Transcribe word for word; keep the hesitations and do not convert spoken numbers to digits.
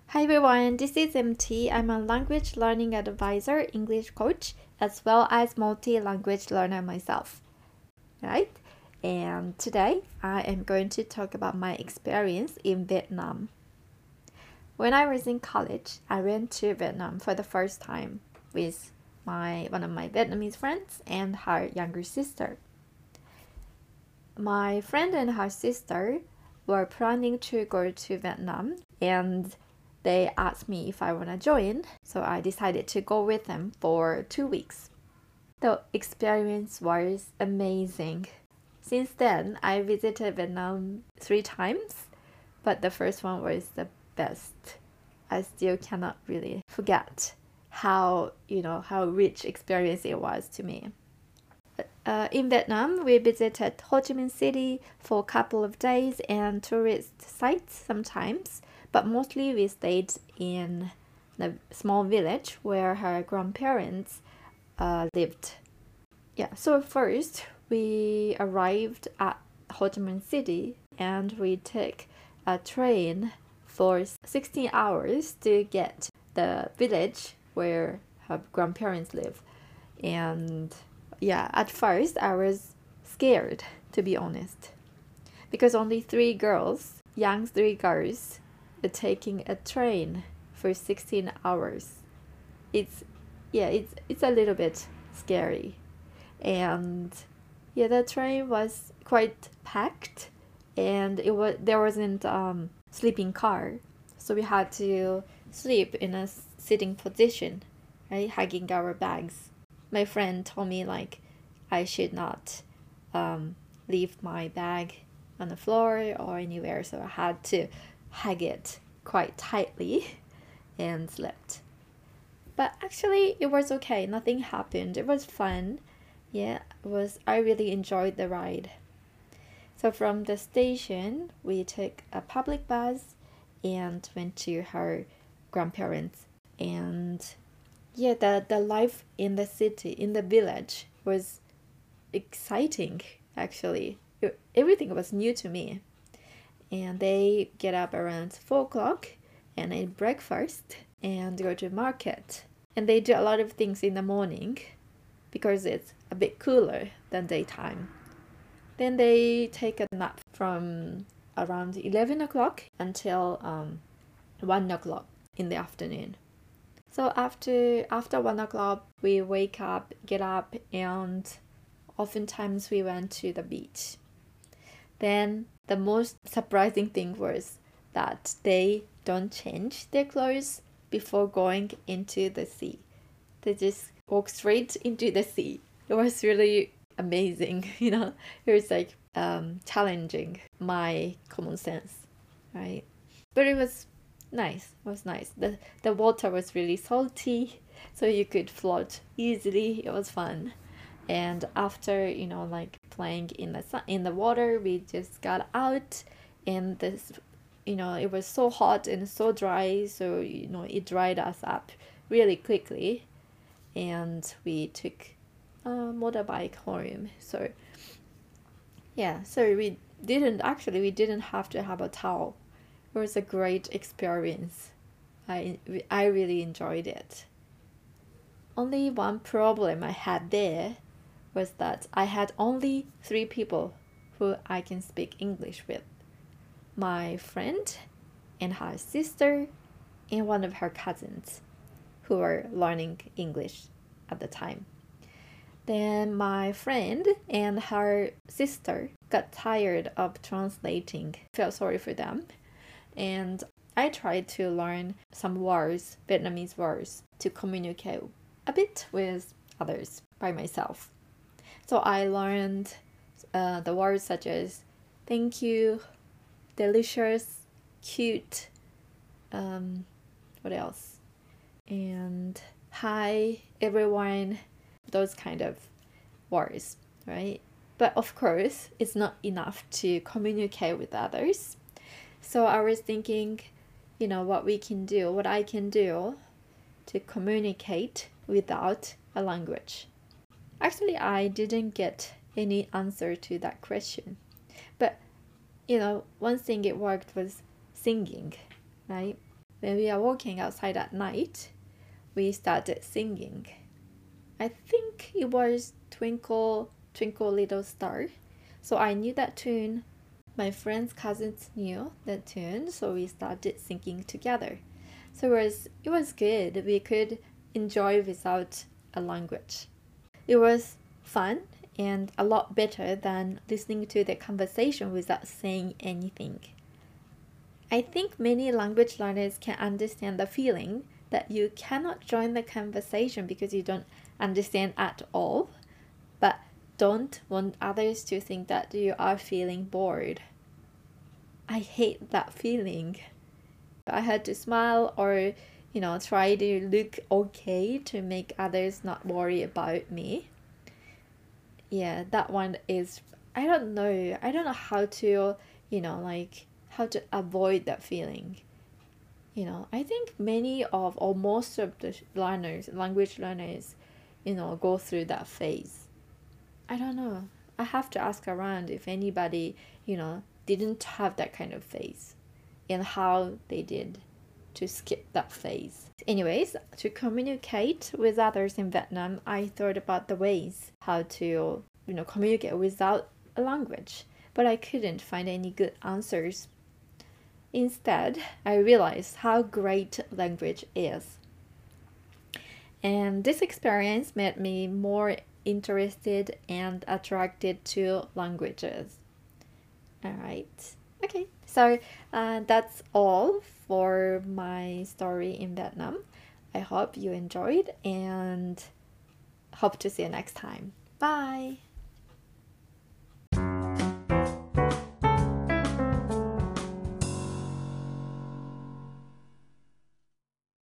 Hi everyone, this is M T. I'm a language learning advisor, English coach, as well as multi-language learner myself, right? And today I am going to talk about my experience in Vietnam. When I was in college, I went to Vietnam for the first time with my one of my Vietnamese friends and her younger sister. My friend and her sister were planning to go to Vietnam, and they asked me if I want to join, so I decided to go with them for two weeks. The experience was amazing. Since then, I visited Vietnam three times, but the first one was the best. I still cannot really forget how, you know, how rich experience it was to me. Uh, in Vietnam, we visited Ho Chi Minh City for a couple of days and tourist sites sometimes, but mostly we stayed in a small village where her grandparents uh, lived. Yeah, so first we arrived at Ho Chi Minh City and we took a train for sixteen hours to get the village where her grandparents live. And yeah, at first I was scared, to be honest, because only three girls, young three girls, were taking a train for sixteen hours. It's, yeah, it's it's a little bit scary, and yeah, the train was quite packed, and it was there wasn't um sleeping car, so we had to sleep in a sitting position, right, hugging our bags. My friend told me like I should not um, leave my bag on the floor or anywhere, so I had to hug it quite tightly and slept. But actually it was okay, nothing happened. It was fun. Yeah, it was I really enjoyed the ride. So from the station we took a public bus and went to her grandparents. And yeah, the, the life in the city, in the village, was exciting, actually. It, everything was new to me. And they get up around four o'clock and eat breakfast and go to market. And they do a lot of things in the morning because it's a bit cooler than daytime. Then they take a nap from around eleven o'clock until um, one o'clock in the afternoon. So after after one o'clock, we wake up, get up, and oftentimes we went to the beach. Then the most surprising thing was that they don't change their clothes before going into the sea. They just walk straight into the sea. It was really amazing, you know. It was like um, challenging my common sense, right? But it was nice. It was nice. The the water was really salty, so you could float easily. It was fun. And after, you know, like playing in the sun, in the water, we just got out, and this, you know, it was so hot and so dry, so you know it dried us up really quickly, and we took a motorbike home. So yeah, so we didn't actually we didn't have to have a towel. It was a great experience. I I really enjoyed it. Only one problem I had there was that I had only three people who I can speak English with. My friend and her sister and one of her cousins who were learning English at the time. Then my friend and her sister got tired of translating. Felt sorry for them. And I tried to learn some words, Vietnamese words, to communicate a bit with others by myself. So I learned uh, the words such as thank you, delicious, cute, um, what else? And hi, everyone, those kind of words, right? But of course, it's not enough to communicate with others. So I was thinking, you know, what we can do, what I can do to communicate without a language. Actually, I didn't get any answer to that question. But, you know, one thing it worked was singing, right? when we are walking outside at night, we started singing. I think it was Twinkle, Twinkle Little Star. So I knew that tune. My friend's cousins knew that tune, so we started singing together. So it was, it was good. We could enjoy without a language. It was fun and a lot better than listening to the conversation without saying anything. I think many language learners can understand the feeling that you cannot join the conversation because you don't understand at all, but don't want others to think that you are feeling bored. I hate that feeling. I had to smile or, you know, try to look okay to make others not worry about me. Yeah, that one is, I don't know. I don't know how to, you know, like how to avoid that feeling. You know, I think many of or most of the learners, language learners, you know, go through that phase. I don't know. I have to ask around if anybody, you know, didn't have that kind of phase and how they did to skip that phase. Anyways, to communicate with others in Vietnam, I thought about the ways how to, you know, communicate without a language, but I couldn't find any good answers. Instead, I realized how great language is. And this experience made me more interested and attracted to languages. All right. Okay. So uh, that's all for my story in Vietnam. I hope you enjoyed and hope to see you next time. Bye.